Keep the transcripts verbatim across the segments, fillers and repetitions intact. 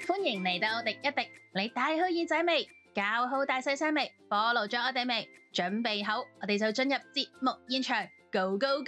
歡迎嚟到廸一廸，你帶好耳仔未？搞好大細聲未？follow咗我哋未？準備好，我哋就進入節目現場，Go Go Go！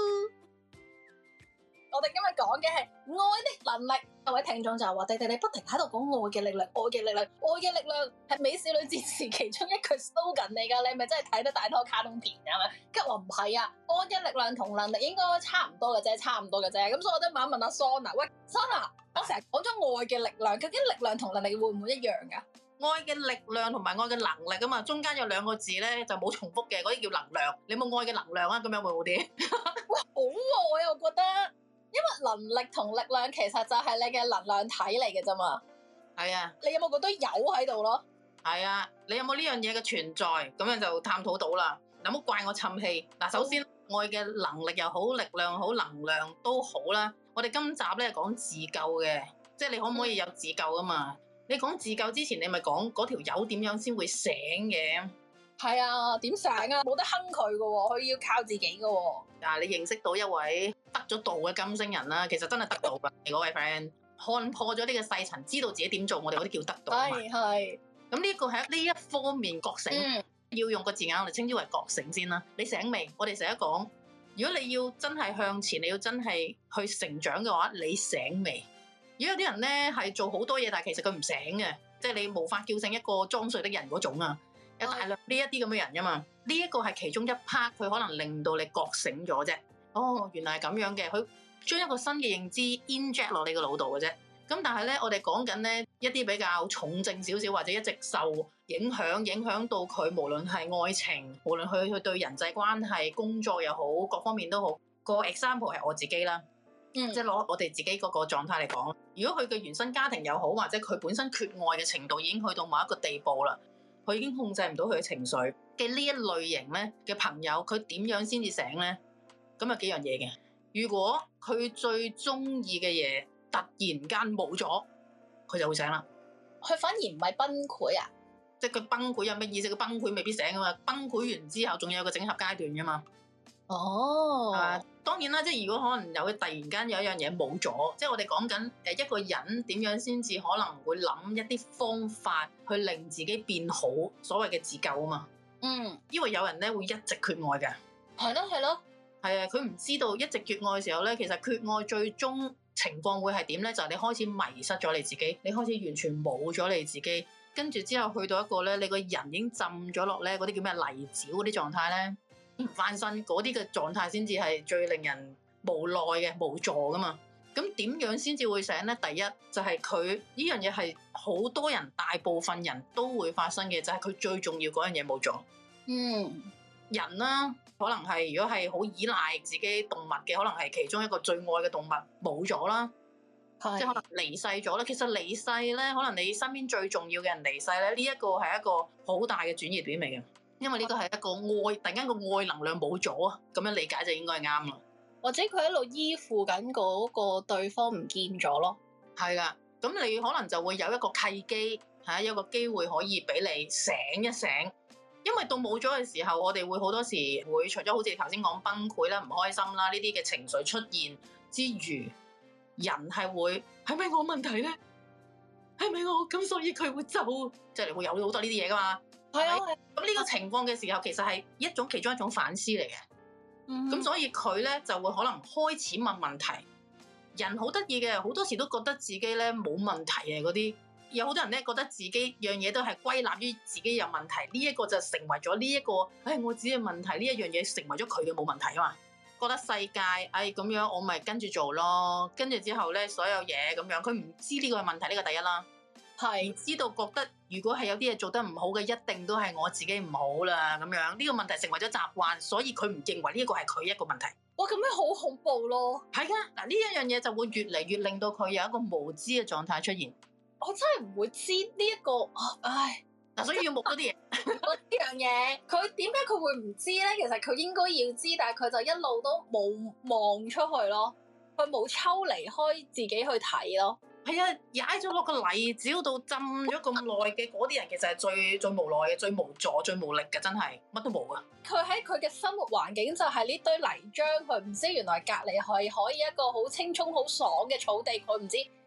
我哋今日講嘅係愛的能力。各位聽眾就話：弟弟你不停喺度講愛嘅力量，愛嘅力量，愛嘅力量係美少女戰士其中一句 slogan 嚟㗎。你係咪真係睇得大多卡通片啊？吉話唔係啊，愛嘅力量同能力應該差唔多嘅啫，差唔多嘅啫。咁所以我都問一問阿 Sona，喂 Sona，我成日講咗愛嘅力量，究竟力量同能力會唔會一樣㗎？ 愛嘅力量同埋愛嘅能力啊嘛，中間有兩個字咧就冇重複嘅，嗰啲叫能量。你冇愛嘅能量啊？咁樣會好啲？ 哇，好喎！我又覺得，因為能力同力量其實就係你嘅能量體嚟嘅啫嘛。 係啊， 你有冇覺得有喺度咯？ 係啊，你有冇呢樣嘢嘅存在？咁樣就探討到啦。有冇怪我沉氣？嗱，首先愛嘅能力又好，力量好，能量都好啦。我哋今集咧講自救嘅，即係你可唔可以有自救啊嘛？你講自救之前，你咪講嗰條友點樣先會醒嘅？ 係啊，點醒啊？冇得坑佢㗎喎，佢要靠自己㗎喎。 嗱，你認識到一位得咗道嘅金星人啦，其實真係得道㗎。你嗰位 friend 看破咗呢個細層，知道自己點做，我哋嗰啲叫得道啊嘛。 係係。 咁呢個係呢一方面覺醒， 嗯、 要用個字眼我哋稱之為覺醒先啦。你醒未？我哋成日講，如果你要真係向前，你要真係去成長嘅話，你醒未？如果有啲人咧係做好多嘢，但係其實佢唔醒嘅，即係你無法叫醒一個裝睡的人嗰種啊，有大量呢一啲咁嘅人噶嘛。呢一個係其中一 part，佢可能令到你覺醒咗啫。哦，原來係咁樣嘅，佢將一個新嘅認知 inject 落你個腦度嘅啫。咁但係咧，我哋講緊咧一啲比較重症少少，或者一直受影響，影響到佢無論係愛情，無論佢佢對人際關係、工作又好，各方面都好。個 example 係我自己啦。嗯、即係攞我哋自己嗰個狀態嚟講，如果佢嘅原生家庭又好，或者佢本身缺愛嘅程度已經去到某一個地步啦，佢已經控制唔到佢嘅情緒嘅呢一類型咧嘅朋友，佢點樣先至醒咧？咁有幾樣嘢嘅。如果佢最中意嘅嘢突然間冇咗，佢就會醒啦。 佢反而唔係崩潰啊？ 即係佢崩潰有咩意思？佢崩潰未必醒噶嘛，崩潰完之後仲有個整合階段噶嘛。 哦， 啊，當然啦，即係如果可能有突然間有一樣嘢冇咗，即係我哋講緊誒一個人點樣先至可能會諗一啲方法去令自己變好，所謂嘅自救啊嘛。 嗯， 因為有人咧會一直缺愛嘅， 係咯係咯， 係啊，佢唔知道一直缺愛嘅時候咧，其實缺愛最終情況會係點咧？就係你開始迷失咗你自己，你開始完全冇咗你自己，跟住之後去到一個咧，你個人已經浸咗落咧嗰啲叫咩泥沼嗰啲狀態咧。唔翻身嗰啲嘅狀態先至係最令人無奈嘅無助噶嘛。咁點樣先至會醒咧？第一就係佢呢樣嘢係好多人大部分人都會發生嘅，就係、是、佢最重要嗰樣嘢冇咗。 嗯， 人啦，可能係如果係好依賴自己動物嘅，可能係其中一個最愛嘅動物冇咗啦， 是即係可能離世咗啦。其實離世咧，可能你身邊最重要嘅人離世咧，呢、這、一個係一個好大嘅轉移點嚟嘅。因為呢個係一個愛，突然間個愛能量冇咗啊，咁樣理解就應該係啱啦。 或者佢一路依附緊嗰個對方唔見咗咯。係噶，咁你可能就會有一個契機，吓有一個機會可以俾你醒一醒。因為到冇咗嘅時候，我哋會好多時會除咗好似頭先講崩潰啦、唔開心啦呢啲嘅情緒出現之餘，人係會係咪我問題咧？係咪我咁所以佢會走？即係你會有好多呢啲嘢噶嘛？ 係啊， 咁呢個情況嘅時候，其實係一種其中一種反思嚟嘅。咁、嗯、所以佢咧就會可能開始問問題。人好得意嘅，好多時都覺得自己咧冇問題嘅嗰啲，有好多人咧覺得自己樣嘢都係歸納於自己有問題。呢、這、一個就成為咗呢一個，唉、哎，我自己嘅問題。呢一樣嘢成為咗佢嘅冇問題啊嘛。覺得世界，唉、哎、咁樣我咪跟住做咯。跟住之後咧，所有嘢咁樣，佢唔知呢個係問題，呢、這個第一啦。係知道覺得如果係有啲嘢做得唔好嘅，一定都係我自己唔好啦咁樣。呢個問題成為咗習慣，所以佢唔認為呢一個係佢一個問題。 哇，咁樣好恐怖咯！ 係噶，嗱呢一樣嘢就會越嚟越令到佢有一個無知嘅狀態出現。 我真係唔會知呢、這、一個，唉， 嗱，所以要目嗰啲嘢。 呢樣嘢，佢點解佢會唔知咧？其實佢應該要知，但係佢就一路都冇望出去咯，佢冇抽離開自己去睇咯。 係啊，踩咗落個泥沼度浸咗咁耐嘅嗰啲人，其實係最最無奈嘅、最無助、最無力嘅，真係乜都冇啊！ 佢喺佢嘅生活環境就係呢堆泥漿，佢唔知原來隔離係可以一個好青蔥、好爽嘅草地，佢唔知。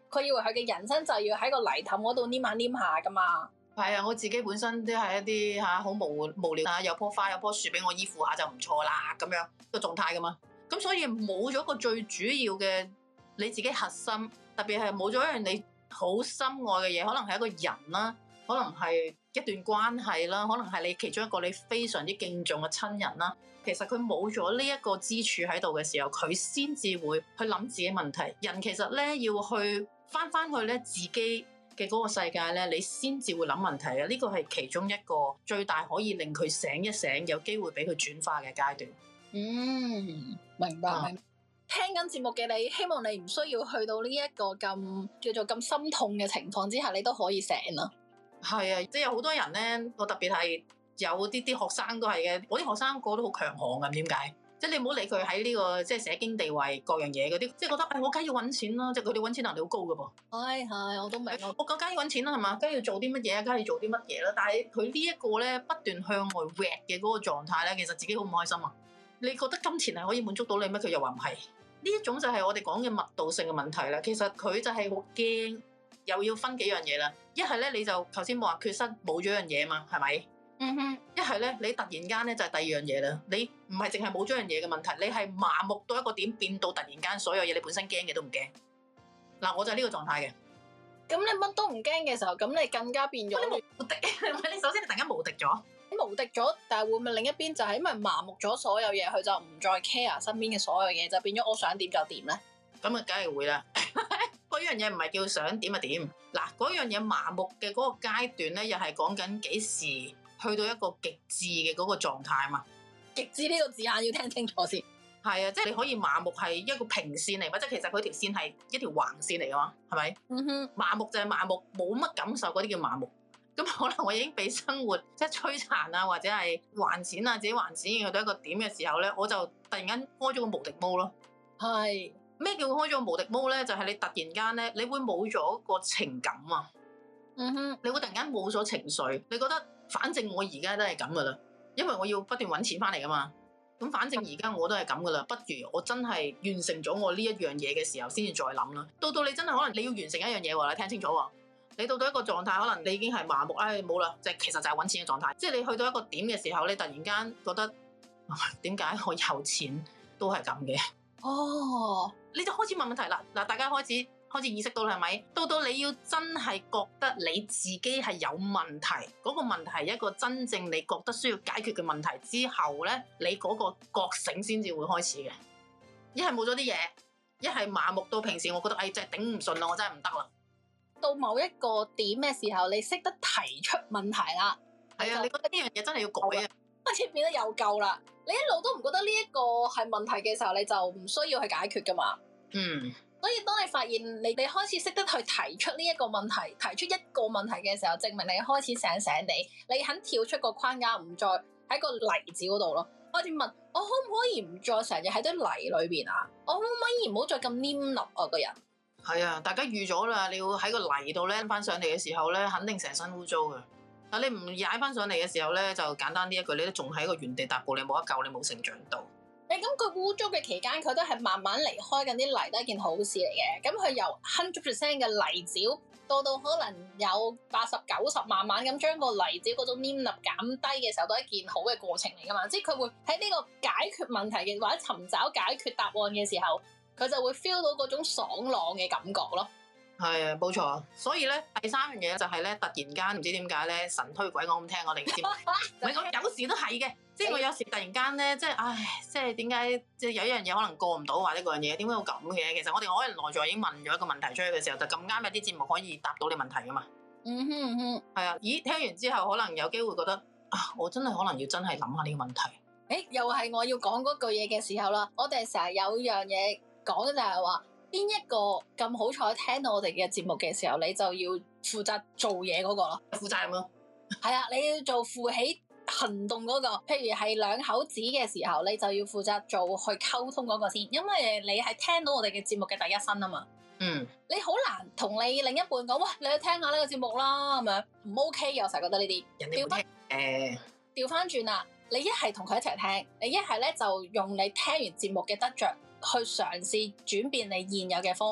佢以為佢嘅人生就要喺個泥凼嗰度黏下黏下噶嘛。 係啊，我自己本身都係一啲嚇好無無聊啊，有棵花有棵樹俾我依附下就唔錯啦，咁樣個狀態噶嘛。咁所以冇咗個最主要嘅你自己核心，特別係冇咗一樣你好深愛嘅嘢，可能係一個人啦，可能係一段關係啦，可能係你其中一個你非常之敬重嘅親人啦。其實佢冇咗呢一個支柱喺度嘅時候，佢先至會去諗自己問題。人其實咧要去翻翻去咧自己嘅嗰個世界咧，你先至會諗問題嘅。呢個係其中一個最大可以令佢醒一醒，有機會俾佢轉化嘅階段。 嗯，明白。嗯、聽緊節目嘅你，希望你唔需要去到呢一個咁叫做咁心痛嘅情況之下，你都可以醒啦。 係啊，即係有好多人咧，我特別係有啲啲學生都係嘅，我啲學生個個都好強項㗎，點解？即係你唔好理佢喺呢個即係社經地位各樣嘢嗰啲，即係覺得誒、哎、我梗係要揾錢啦，即係佢哋揾錢能力好高㗎噃。 係係，我都明。 我梗係要揾錢啦，係嘛？梗係要做啲乜嘢啊？梗係要做啲乜嘢啦？但係佢呢一個咧不斷向外搲嘅嗰個狀態咧，其實自己好唔開心啊！你覺得金錢係可以滿足到你咩？佢又話唔係。呢一種就係我哋講嘅密度性嘅問題啦。其實佢就係好驚，又要分幾樣嘢啦。一係咧你就頭先冇話缺失冇咗樣嘢嘛，係咪？嗯哼，一係咧，你突然間咧就係第二樣嘢啦。你唔係淨係冇咗樣嘢嘅問題，你係麻木到一個點，變到突然間所有嘢你本身驚嘅都唔驚。嗱，我就係呢個狀態嘅。 咁你乜都唔驚嘅時候，咁你更加變咗無敵。你首先你突然間無敵咗， 無敵咗，但係會唔會另一邊就係因為麻木咗所有嘢，佢就唔再 care 身邊嘅所有嘢，就變咗我想點就點咧？ 咁啊，梗係會啦。嗰樣嘢唔係叫想點就點。嗱，嗰樣嘢麻木嘅嗰個階段咧，又係講緊幾時去到一個極致嘅嗰個狀態嘛？ 極致呢個字眼要聽清楚先。 係啊，即係你可以麻木係一個平線嚟，或者其實佢條線係一條橫線嚟嘅嘛，係咪？嗯哼，麻木就係麻木，冇乜感受嗰啲叫麻木。咁可能我已經俾生活即係摧殘啊，或者係還錢啊，自己還錢去到一個點嘅時候咧，我就突然間開咗個無敵毛咯。係咩叫開咗個無敵毛咧？就係、是、你突然間咧，你會冇咗個情感啊。嗯哼，你會突然間冇咗情緒，你覺得反正我而家都係咁噶啦，因為我要不斷揾錢翻嚟噶嘛。咁反正而家我都係咁噶啦，不如我真係完成咗我呢一樣嘢嘅時候，先至再諗啦。到到你真係可能你要完成一樣嘢喎，你聽清楚喎。你到到一個狀態，可能你已經係麻木，唉冇啦，即係其實就係揾錢嘅狀態。即係你去到一個點嘅時候，你突然間覺得點解我有錢都係咁嘅？哦，你就開始問問題啦。嗱，大家開始開始意識到啦，係咪？到到你要真係覺得你自己係有問題，嗰個問題係一個真正你覺得需要解決嘅問題之後咧，你嗰個覺醒先至會開始嘅。一係冇咗啲嘢，一係麻木到平時，我覺得唉真係頂唔順啦，我真係唔得啦。到某一個點嘅時候，你識得提出問題啦。係啊，你覺得呢樣嘢真係要改啊，開始變得有救啦。你一路都唔覺得呢一個係問題嘅時候，你就唔需要去解決噶嘛。嗯。所以當你發現你你開始識得去提出呢一個問題，提出一個問題嘅時候，證明你開始醒醒地，你肯跳出個框架，唔再喺個泥沼嗰度咯。開始問我可唔可以唔再成日喺堆泥裏邊啊？我可唔可以唔好再咁黏立啊個人？係啊，大家預咗啦，你要喺個泥度咧翻上嚟嘅時候咧，肯定成身污糟嘅。但你唔踩翻上嚟嘅時候咧，就簡單啲一句，你都仲喺個原地踏步，你冇得救，你冇成長到。誒咁佢污糟嘅期間，佢都係慢慢離開緊啲泥，都係一件好事嚟嘅。咁佢由百分之百嘅泥沼到到可能有八十九十，慢慢咁將個泥沼嗰種黏膩減低嘅時候，都係一件好嘅過程嚟噶嘛。即係佢會喺呢個解決問題嘅或者尋找解決答案嘅時候，佢就會 feel 到嗰種爽朗嘅感覺咯。係啊，冇錯。所以咧，第三樣嘢就係咧，突然間唔知點解咧，神推鬼我咁聽我哋嘅節目，唔係我有時都係嘅。即係我有時突然間咧，即係唉，即係點解即係有一樣嘢可能過唔到，或者嗰樣嘢點解會咁嘅？其實我哋可能內在已經問咗一個問題出去嘅時候，就咁啱有啲節目可以答到你問題噶嘛。嗯哼嗯哼，係啊。咦，聽完之後可能有機會覺得啊，我真係可能要真係諗下呢個問題。誒、欸，又係我要講嗰句嘢嘅時候啦。我哋成日有樣嘢講就係話，邊一個咁好彩聽到我哋嘅節目嘅時候，你就要負責做嘢嗰個咯，負責任咯。係啊，你要做負起行動嗰個，譬如係兩口子嘅時候，你就要負責做去溝通嗰個先，因為你係聽到我哋嘅節目嘅第一身啊嘛。嗯，你好難同你另一半講，喂，你去聽下呢個節目啦，咁樣唔 OK 嘅，我成日覺得呢啲。人哋唔聽誒，調翻轉啦，你一係同佢一齊聽，你一係咧就用你聽完節目嘅得着去嘗試轉變你現有嘅方法，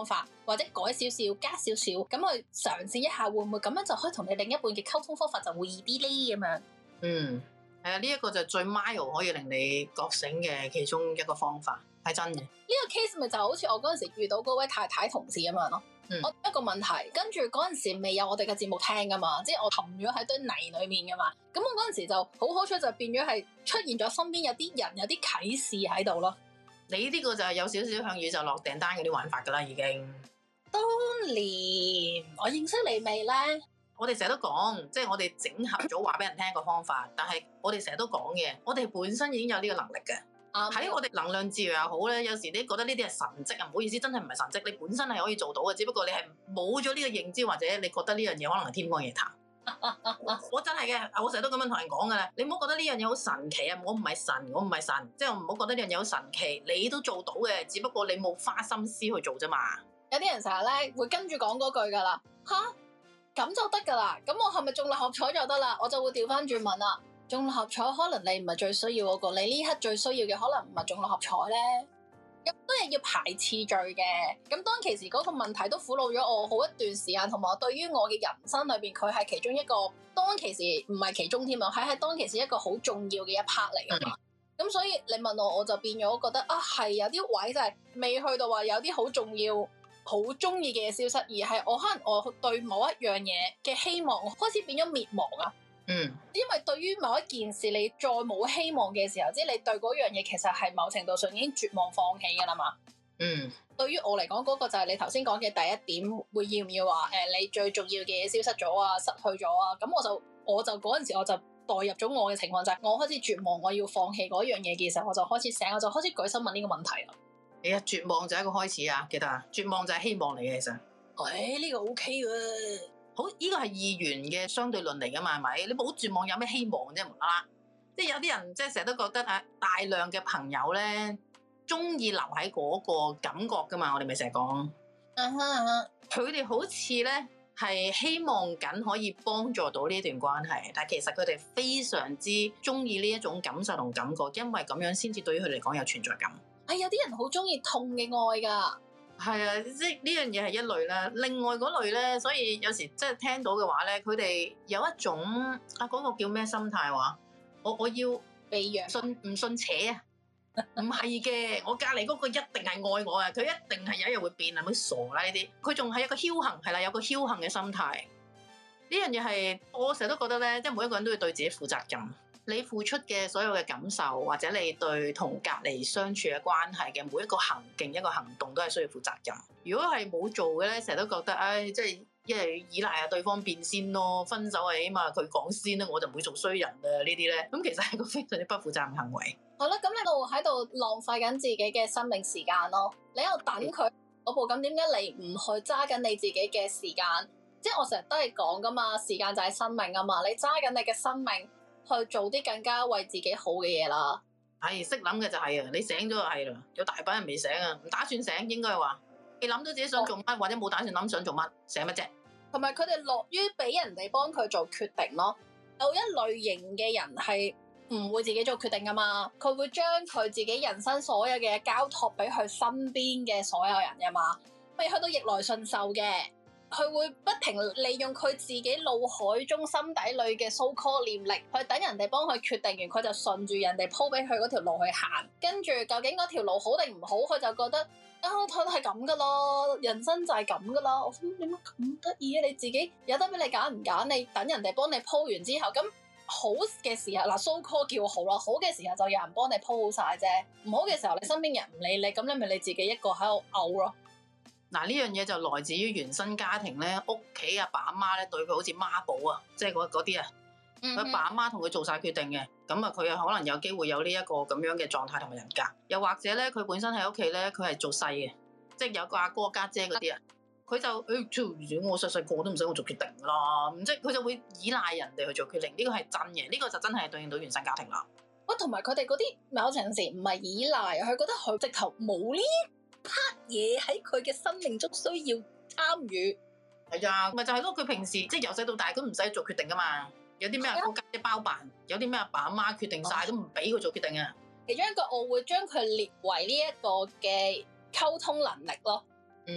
或者改少少、加少少，咁去嘗試一下，會唔會咁樣就可以同你另一半嘅溝通方法就會易啲咧？咁樣。 嗯，係啊，呢一個就最 mild 可以令你覺醒嘅其中一個方法，係真嘅。呢個 case 咪就好似我嗰陣時遇到嗰位太太同事咁樣咯。嗯、我一個問題，跟住嗰陣時未有我哋嘅節目聽噶嘛，即係我沉咗喺堆泥裏面噶嘛。咁我嗰陣時就好好彩，就變咗係出現咗身邊有啲人有啲啟示喺度咯。 你呢個就係有少少向宇宙落訂單嗰啲玩法噶啦，已經。 當年我認識你未咧？ 我哋成日都講，即係我哋整合咗話俾人聽個方法，但係我哋成日都講嘅，我哋本身已經有呢個能力嘅。喺、嗯、我哋能量治療又好咧，有時你覺得呢啲係神蹟啊，唔好意思，真係唔係神蹟，你本身係可以做到嘅，只不過你係冇咗呢個認知，或者你覺得呢樣嘢可能係天方夜譚。我真係嘅，我成日都咁樣同人講噶啦，你唔好覺得呢樣嘢好神奇啊！我唔係神，我唔係神，即係我唔好覺得呢樣嘢好神奇，你都做到嘅，只不過你冇花心思去做啫嘛。 有啲人成日咧會跟住講嗰句噶啦，吓咁就得噶啦，咁我係咪中六合彩就得啦？我就會調翻轉問啦。中六合彩可能你唔係最需要嗰個，你呢刻最需要嘅可能唔係中六合彩咧，咁都係要排次序嘅。咁當其時嗰個問題都苦惱咗我好一段時間，同埋我對於我嘅人生裏邊，佢係其中一個當其時唔係其中添啊，係喺當其時一個好重要嘅一 part 嚟噶嘛。咁、嗯、所以你問我，我就變咗覺得啊，係有啲位就係未去到話有啲好重要、好中意嘅嘢消失，而係我可能我對某一樣嘢嘅希望開始變咗滅亡啊。嗯，因為對於某一件事你再冇希望嘅時候，即係你對嗰樣嘢其實係某程度上已經絕望放棄噶啦嘛。嗯，對於我嚟講，嗰、嗰個就係你頭先講嘅第一點，會要唔要話誒、呃，你最重要嘅嘢消失咗啊，失去咗啊，咁我就我就嗰陣時我就代入咗我嘅情況，就係我開始絕望，我要放棄嗰樣嘢嘅時候，我就開始醒，我就開始舉手問呢個問題啦。你啊，絕望就係一個開始啊，記得啊，絕望就係希望嚟嘅，其實。誒、哎，呢、呢個 OK 喎。好，呢個係二元嘅相對論嚟噶嘛，係咪？你冇絕望有咩希望啫？無啦啦，即係有啲人即係成日都覺得啊，大量嘅朋友咧，中意留喺嗰個感覺噶嘛，我哋咪成日講。嗯哼嗯哼，佢哋好似咧係希望緊可以幫助到呢段關係，但係其實佢哋非常之中意呢一種感受同感覺，因為咁樣先至對於佢嚟講有存在感。係、哎、有啲人好中意痛嘅愛噶。係啊，即係呢樣嘢係一類啦。另外嗰類咧，所以有時即係聽到嘅話咧，佢哋有一種啊嗰、嗰個叫咩心態話，我我要被養信唔信邪啊？唔係嘅，我隔離嗰個一定係愛我啊！佢一定係有一日會變啊！咪傻啦呢啲，佢仲係一個僥倖係啦，有個僥倖嘅心態。呢樣嘢係我成日都覺得咧，即係每一個人都要對自己負責任。你付出嘅所有嘅感受，或者你對同隔離相處嘅關係嘅每一個行徑、一個行動，都係需要負責任。如果係冇做嘅咧，成日都覺得，唉，即係一係依賴下對方變先咯，分手係起碼佢講先啦，我就唔會做衰人啊呢啲咧。咁其實係個非常之不負責任行為。好啦，咁你度喺度浪費緊自己嘅生命時間咯。你喺度等佢嗰步，咁點解你唔去揸緊你自己嘅時間？即係我成日都係講噶嘛，時間就係生命啊嘛。你揸緊你嘅生命。去做啲更加為自己好嘅嘢啦。係識諗嘅就係啊，你醒咗就係啦。有大把人未醒啊，唔打算醒應該係話，你諗到自己想做乜，或者冇打算諗想做乜，醒乜啫？同埋佢哋樂於俾人哋幫佢做決定咯。有一類型嘅人係唔會自己做決定噶嘛，佢會將佢自己人生所有嘅嘢交託俾佢身邊嘅所有人噶嘛，未去到逆來順受嘅。佢會不停利用佢自己腦海中心底裏嘅 so call 念力，去等人哋幫佢決定完，佢就順住人哋鋪俾佢嗰條路去行。跟住究竟嗰條路好定唔好，佢就覺得啊，佢係咁噶咯，人生就係咁噶啦。我諗點解咁得意啊？你自己有得俾你揀唔揀？你等人哋幫你鋪完之後，咁好嘅時候嗱 so call 叫好啦，好嘅時候就有人幫你鋪好晒啫。唔好嘅時候，你身邊人唔理你，咁你咪你自己一個喺度嘔咯。嗱，呢樣嘢就來自於原生家庭咧，屋企阿爸阿媽咧對佢好似媽寶啊，即係嗰嗰啲啊，佢爸阿媽同佢做晒決定嘅，咁啊佢又可能有機會有呢一個咁樣嘅狀態同埋人格，又或者咧佢本身喺屋企咧佢係做細嘅，即係有個阿哥家姐嗰啲啊，佢就誒，我細細個都唔使我做決定啦，即係佢就會依賴人哋去做決定，呢個係真嘅，呢個就真係對應到原生家庭啦。喂，同埋佢哋嗰啲某程度時唔係依賴，佢覺得佢直頭冇呢part嘢喺佢嘅生命中需要參與。係啊，咪就係咯，佢平時即係由細到大都唔使做決定噶嘛，有啲咩阿哥家姐包辦，有啲咩阿爸阿媽決定晒，都唔俾佢做決定啊。其中一個我會將佢列為呢一個嘅溝通能力咯。嗯，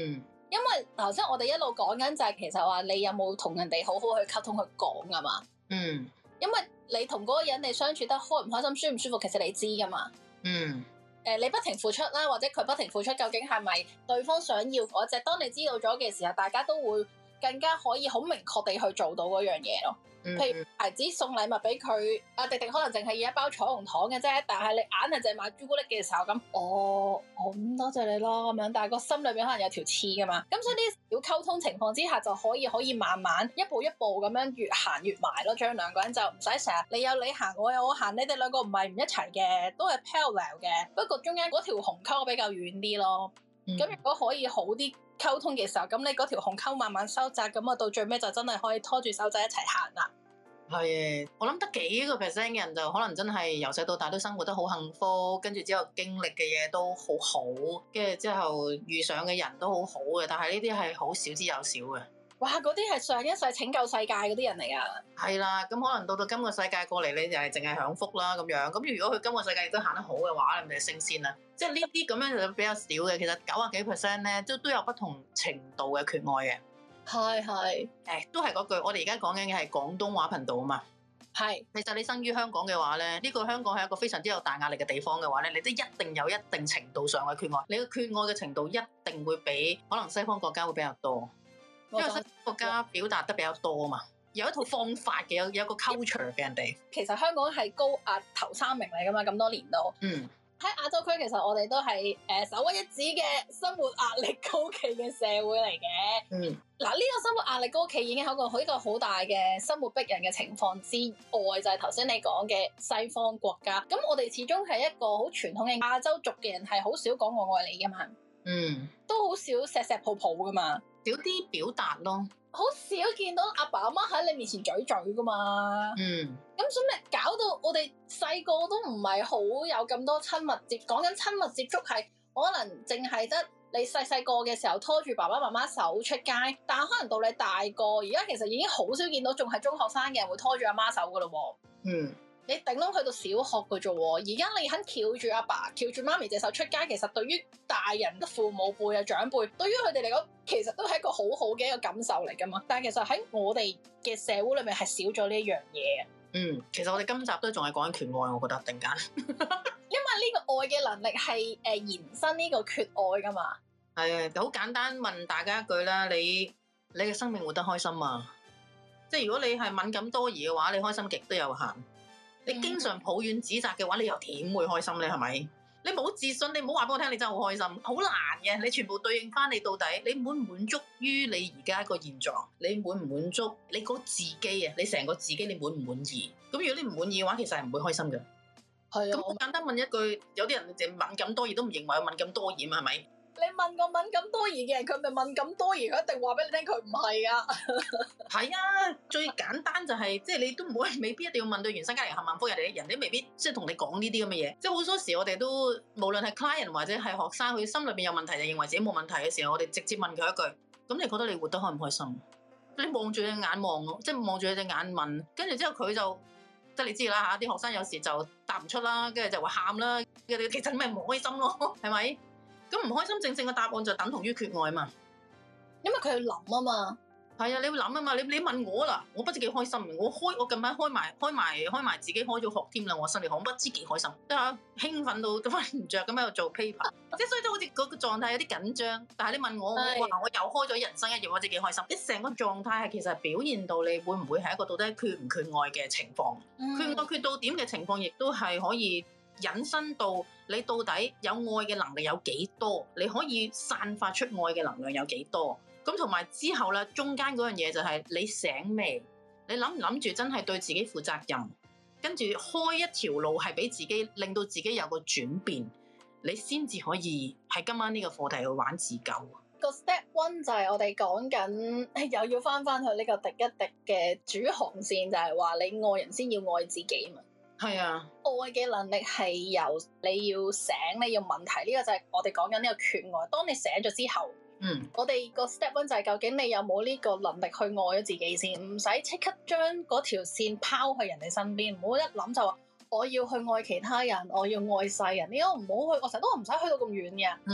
因為頭先我哋一路講緊就係其實話你有冇同人哋好好去溝通去講㗎嘛。 嗯。 因為你同嗰個人你相處得開唔開心、舒唔舒服，其實你知㗎嘛。 嗯。 誒、呃，你不停付出啦，或者佢不停付出，究竟係咪對方想要嗰隻？當你知道咗嘅時候，大家都會更加可以好明確地去做到嗰樣嘢咯。 嗯、 譬如孩子送禮物俾佢，阿迪迪可能淨係要一包彩虹糖嘅啫，但係你硬係淨係買朱古力嘅時候咁，哦，我咁多謝你咯咁樣，但係個心裏邊可能有條刺噶嘛。咁所以呢啲小溝通情況之下，就可以可以慢慢一步一步咁樣越行越埋咯，將兩個人就唔使成日你有你行，我有我行，你哋兩個唔係唔一齊嘅，都係 parallel 嘅，不過中間嗰條鴻溝比較遠啲咯。咁、嗯、如果可以好啲溝通嘅時候，咁你嗰條鴻溝慢慢收窄，咁啊到最尾就真係可以拖住手仔一齊行啦。 係，我諗得幾個 percent 嘅人就可能真係由細到大都生活得好幸福，跟住之後經歷嘅嘢都好好，跟住之後遇上嘅人都好好嘅，但係呢啲係好少之又少嘅。哇！ 嗰啲係上一世拯救世界嗰啲人嚟噶。 係啦，咁可能到到今個世界過嚟，你就係淨係享福啦咁樣。咁如果佢今個世界亦都行得好嘅話，你咪升仙啦。即係呢啲咁樣就比較少嘅。其實九啊幾 percent 咧，都都有不同程度嘅缺愛嘅。 係係， 誒，都係嗰句，我哋而家講緊嘅係廣東話頻道啊嘛。 係， 其實你生於香港嘅話咧，呢個香港係一個非常之有大壓力嘅地方嘅話咧，你都一定有一定程度上嘅缺愛。你嘅缺愛嘅程度一定會比可能西方國家會比較多。因為西方國家表達得比較多啊嘛，有一套方法嘅，有有一個 culture 嘅人哋。 其實香港係高壓頭三名嚟噶嘛，咁多年都。 嗯。喺亞洲區其實我哋都係誒首屈一指嘅生活壓力高企嘅社會嚟嘅。 嗯。 嗱，呢個生活壓力高企已經係一個一個好大嘅生活逼人嘅情況之外，就係頭先你講嘅西方國家。咁我哋始終係一個好傳統嘅亞洲族嘅人，係好少講我愛你噶嘛。 嗯。都好少錫錫抱抱噶嘛。 少啲表達咯， 好少見到阿爸阿媽喺你面前嘴嘴噶嘛。 嗯， 咁所以搞到我哋細個都唔係好有咁多親密接，講緊親密接觸係可能淨係得你細細個嘅時候拖住爸爸媽媽手出街，但係可能到你大個，而家其實已經好少見到仲係中學生嘅人會拖住阿媽手噶咯。嗯。你頂籠去到小學嘅啫喎，而家你肯翹住阿爸、翹住媽咪隻手出街，其實對於大人、父母輩啊、長輩，對於佢哋嚟講，其實都係一個好好嘅一個感受嚟噶嘛。但係其實喺我哋嘅社會裏面係少咗呢一樣嘢。 嗯，其實我哋今集都仲係講緊缺愛，我覺得突然間， 因為呢個愛嘅能力係誒延伸呢個缺愛噶嘛。 係啊，好簡單問大家一句啦，你你嘅生命活得開心嘛？即係如果你係敏感多疑嘅話，你開心極都有限。你經常抱怨指責嘅話，你又點會開心咧？係咪？你冇自信，你唔好話俾我聽，你真係好開心，好難嘅。你全部對應翻你到底，你滿唔滿足於你而家個現狀？你滿唔滿足你嗰自己啊？你成個自己你滿唔滿意？咁如果你唔滿意嘅話，其實係唔會開心嘅。係啊。咁好簡單問一句，有啲人就敏感多疑都唔認為有敏感多疑啊？係咪？ 你問個敏感多疑嘅人，佢咪敏感多疑，佢一定話俾你聽佢唔係啊。 係啊，最簡單就係、是、即係你都唔會未必一定要問到原生家庭幸唔幸福，人哋人哋未必即係同你講呢啲咁嘅嘢。即係好多時我哋都無論係 client 或者係學生，佢心裏邊有問題就認為自己冇問題嘅時候，我哋直接問佢一句：咁你覺得你活得開唔開心？你望住佢眼望，即係望住佢隻眼問，跟住之後佢就即係你知啦嚇，啲學生有時就答唔出啦，跟住就話喊啦，其實咪唔開心咯，係咪？咁唔開心，正正嘅答案就等同於缺愛嘛， 因為佢要諗啊嘛。 係啊，你要諗啊嘛，你你問我啦，我不知幾開心，我開我近排開埋開埋開埋自己開咗學添啦，我心裏我不知幾開心，即係興奮到都瞓唔着咁喺度做 paper， 即係所以都好似嗰個狀態有啲緊張。但係你問我，我話我又開咗人生一頁，我知幾開心。你成個狀態係其實表現到你會唔會係一個到底缺唔缺愛嘅情況，嗯、缺愛缺到點嘅情況，亦都係可以引申到你到底有愛嘅能力有幾多，你可以散發出愛嘅能量有幾多。咁同埋之後咧，中間嗰樣嘢就係你醒未？你諗唔諗住真係對自己負責任，跟住開一條路係俾自己，令到自己有個轉變，你先至可以喺今晚呢個課題去玩自救。 個 step one 就係我哋講緊，又要翻翻去呢個滴一滴嘅主航線，就係話你愛人先要愛自己嘛。係啊，愛嘅能力係由你要醒，你要問題，呢個就係我哋講緊呢個缺愛。當你醒咗之後。嗯，我哋個 step one 就係究竟你有冇呢個能力去愛咗自己先，唔使即刻將嗰條線拋去人哋身邊，唔好一諗就話我要去愛其他人，我要愛世人，呢個唔好去，我成日都唔使去到咁遠嘅。嗯，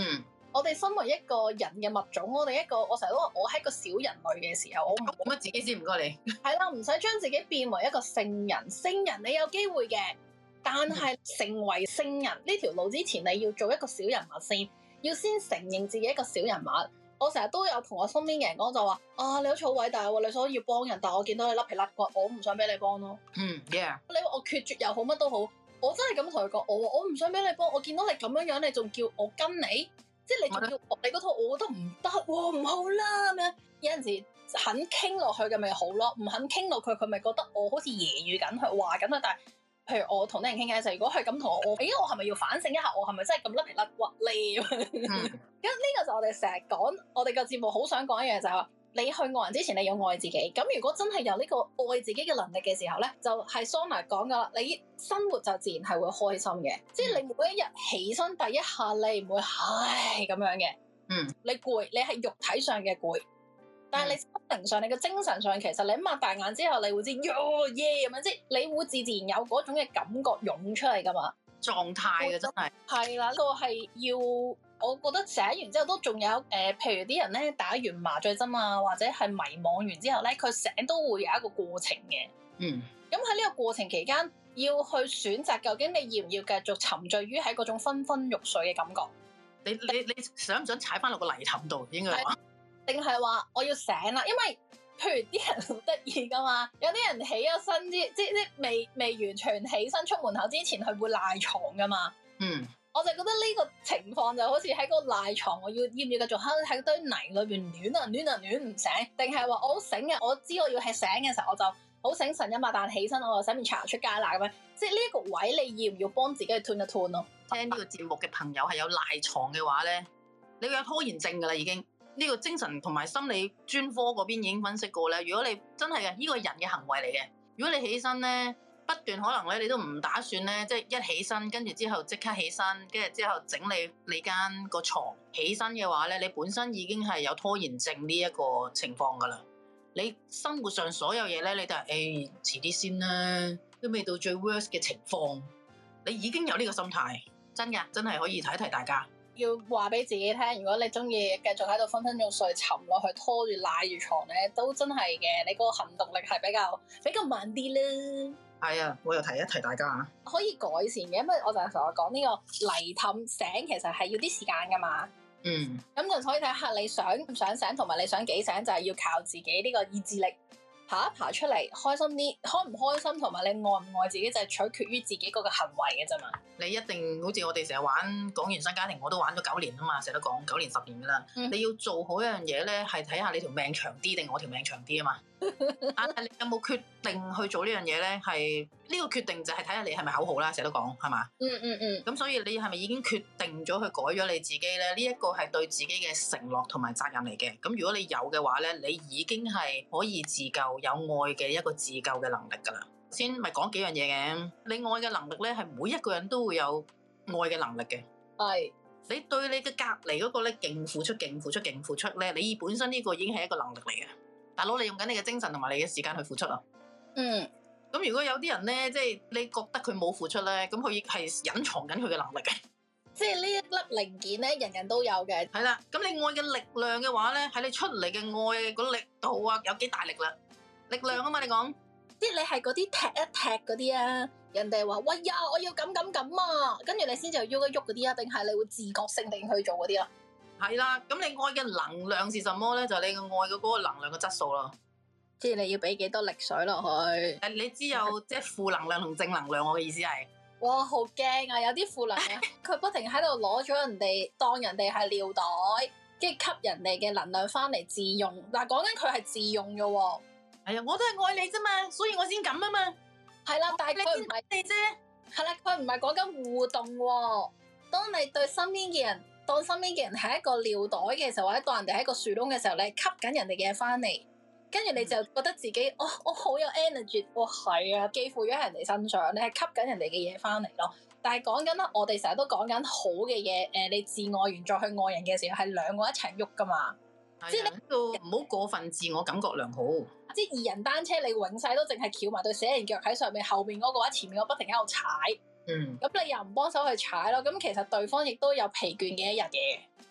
我哋身為一個人嘅物種，我哋一個我成日都話我係一個小人類嘅時候，我唔咁乜自己先唔該你。 係啦，唔使將自己變為一個聖人。聖人你有機會嘅，但係成為聖人呢條路之前，你要做一個小人物先，要先承認自己一個小人物。我成日都有同我身邊嘅人講就話啊，你好似好偉大喎，你想要幫人，但係我見到你甩皮甩骨，我唔想俾你幫咯。 嗯 ，yeah。 你話我決絕又好，乜都好，我真係咁同佢講，我話我唔想俾你幫，我見到你咁樣樣，你仲叫我跟你，即係你仲要學你嗰套，我覺得唔得喎，唔好啦咁樣。有陣時肯傾落去嘅咪好咯，唔肯傾落去，佢咪覺得我好似揶揄緊佢，話緊佢，但係。譬如我同啲人傾偈嘅時候，如果佢咁同我，我，咦，我係咪要反省一下，我係咪真係咁甩皮甩骨咧？咁呢、嗯、個就我哋成日講，我哋個節目好想講一樣就係話，你去愛人之前，你要愛自己。咁如果真係有呢個愛自己嘅能力嘅時候咧，就係 Sona 講噶啦，你生活就自然係會開心嘅。即係你每一日起身第一下，你唔會唉咁樣嘅。嗯，你攰，你係肉體上嘅攰。但係你心靈上、你嘅精神上，其實你擘大眼之後，你會知喲耶咁樣，即係你會自自然有嗰種嘅感覺湧出嚟噶嘛，狀態嘅真係係啦，呢個係要我覺得寫完之後都仲有誒、呃，譬如啲人咧打完麻醉針啊，或者係迷惘完之後咧，佢醒都會有一個過程嘅。嗯，咁喺呢個過程期間，要去選擇究竟你要唔要繼續沉醉於喺嗰種昏昏欲睡嘅感覺？你你你想唔想踩翻落個泥凼度？應該話。定係話我要醒啦，因為譬如啲人好得意噶嘛，有啲人起咗身之，即即未未完全起身出門口之前，佢會賴床噶嘛。嗯，我就覺得呢個情況就好似喺個賴床，我要要唔要繼續喺喺堆泥裏邊亂啊亂啊亂唔醒，定係話我好醒嘅，我知我要係醒嘅時候，我就好醒神一擘大起身，我就洗面刷牙出街啦咁樣。即係呢一個位，你要唔要幫自己去 turn 一 turn 咯？聽呢個節目嘅朋友係有賴床嘅話咧，你會有拖延症噶啦已經。呢個精神同埋心理專科嗰邊已經分析過咧。如果你真係嘅，呢個人嘅行為嚟嘅。如果你起身咧，不斷可能咧，你都唔打算咧，即係一起身，跟住之後即刻起身，跟住之後整理你間個床。起身嘅話咧，你本身已經係有拖延症呢一個情況噶啦。你生活上所有嘢咧，你都係誒遲啲先啦，都未到最 worst 嘅情況，你已經有呢個心態，真㗎，真係可以提一提大家。要話俾自己聽，如果你中意繼續喺度昏昏欲睡沉落去拖住賴住床咧，都真係嘅，你個行動力係比較比較慢啲啦。係啊，我又提一提大家可以改善嘅，因為我就係同我講呢個泥凼醒，其實係要啲時間噶嘛。嗯，咁就可以睇下你想唔想醒，同埋你想幾醒，就係要靠自己呢個意志力。爬一爬出嚟，開心啲，開唔開心同埋你愛唔愛自己就係取決於自己嗰個行為嘅啫嘛。你一定好似我哋成日玩講原生家庭，我都玩咗九年啊嘛，成日都講九年十年噶啦。嗯、你要做好一樣嘢咧，係睇下你條命長啲定我條命長啲啊嘛。但係你有冇決定去做呢樣嘢咧？係呢、呢個決定就係睇下你係咪口號啦，成日都講係嘛。嗯嗯嗯。咁所以你係咪已經決定咗去改咗你自己咧？呢、呢、一個係對自己嘅承諾同埋責任嚟嘅。咁如果你有嘅話咧，你已經係可以自救，有愛嘅一個自救嘅能力噶啦。先咪講幾樣嘢嘅，你愛嘅能力咧係每一個人都會有愛嘅能力嘅。係。你對你嘅隔離嗰個咧勁付出、勁付出、勁付出咧，你本身呢個已經係一個能力嚟嘅。大佬，你用緊你嘅精神同埋你嘅時間去付出啊。嗯。咁如果有啲人咧，即係你覺得佢冇付出咧，咁佢亦係隱藏緊佢嘅能力嘅。即係呢一粒零件咧，人人都有嘅。係啦，咁你愛嘅力量嘅話咧，喺你出嚟嘅愛嗰力度啊，有幾大力啦？力量啊嘛，你講。即係你係嗰啲踢一踢嗰啲啊，人哋話喂呀，我要咁咁咁啊，跟住你先至去喐一喐嗰啲啊，定係你會自覺性定去做嗰啲啊？係啦，咁你愛嘅能量是什麼咧？就係、是、你嘅愛嘅嗰個能量嘅質素咯。即係你要俾幾多力水落去？誒，你知有即係負能量同正能量，我嘅意思係。哇，好驚啊！有啲負能量，佢不停喺度攞咗人哋當人哋係尿袋，跟住吸人哋嘅能量翻嚟自用。嗱，講緊佢係自用嘅喎。係啊，我都係愛你啫嘛，所以我先咁啊嘛。係啦，但係佢唔係你啫。係啦，佢唔係講緊互動喎。當你對身邊嘅人，當身邊嘅人係一個尿袋嘅時候，或者當人哋係一個樹窿嘅時候，你吸緊人哋嘅嘢翻嚟，跟住你就覺得自己，哦，我好有 energy，哇，係啊，寄附咗喺人哋身上，你係吸緊人哋嘅嘢翻嚟咯。但係講緊啦，我哋成日都講緊好嘅嘢，誒，你自愛完再去愛人嘅時候，係兩個一齊喐噶嘛。的即係你都唔好過分自我感覺良好。即係二人單車，你永世都淨係翹埋對死人腳喺上面，後面嗰個喺前面，我不停喺度踩。嗯。咁你又唔幫手去踩咯，咁其實對方亦都有疲倦嘅一日嘅。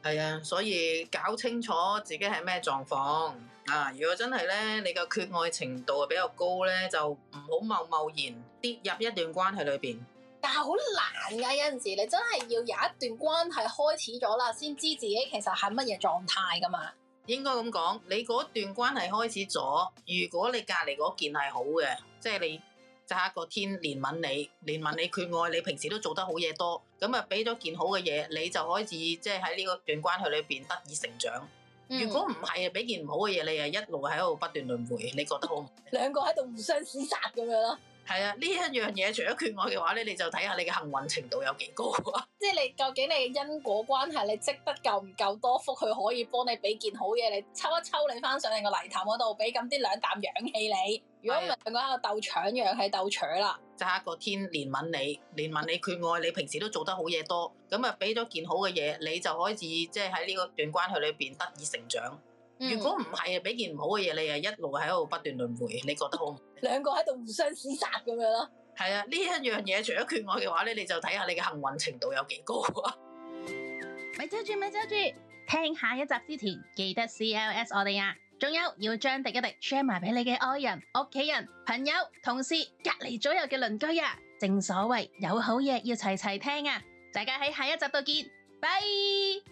係啊，所以搞清楚自己係咩狀況啊！如果真係咧，你個缺愛程度比較高咧，就唔好貿貿然跌入一段關係裏邊。 但係好難㗎，有陣時你真係要有一段關係開始咗啦，先知自己其實係乜嘢狀態㗎嘛。 應該咁講，你嗰段關係開始咗，如果你隔離嗰件係好嘅，即係你揸一個天憐憫你，憐憫你缺愛，你平時都做得好嘢多，咁啊俾咗件好嘅嘢，你就開始即係喺呢個段關係裏邊得以成長。 嗯、 如果唔係啊，俾件唔好嘅嘢，你係一路喺度不斷輪迴，你覺得好唔好？ 兩個喺度互相廝殺咁樣咯。 係啊，呢一樣嘢除咗缺愛嘅話咧，你就睇下你嘅幸運程度有幾高啊！ 即係你究竟你嘅因果關係，你積得夠唔夠多福，佢可以幫你俾件好嘢，你抽一抽你翻上你個泥潭嗰度，俾咁啲兩啖氧氣你。如果唔係兩個喺度鬥搶氧氣鬥搶啦， 揸一個天憐憫你，憐憫你缺愛，你平時都做得好嘢多，咁啊俾咗件好嘅嘢，你就開始即係喺呢個段關係裏邊得以成長。如果唔係啊，俾件唔好嘅嘢，你係一路喺度不斷輪迴，你覺得好唔好？ 兩個喺度互相廝殺咁樣咯。 係啊，呢一樣嘢除咗缺愛嘅話咧，你就睇下你嘅幸運程度有幾高啊！ 咪走住咪走住，聽下一集之前記得 C L S 我哋啊！仲有要將廸一廸 share 埋俾你嘅愛人、屋企人、朋友、同事、隔離左右嘅鄰居啊！正所謂有好嘢要齊齊聽啊！大家喺下一集度見，拜。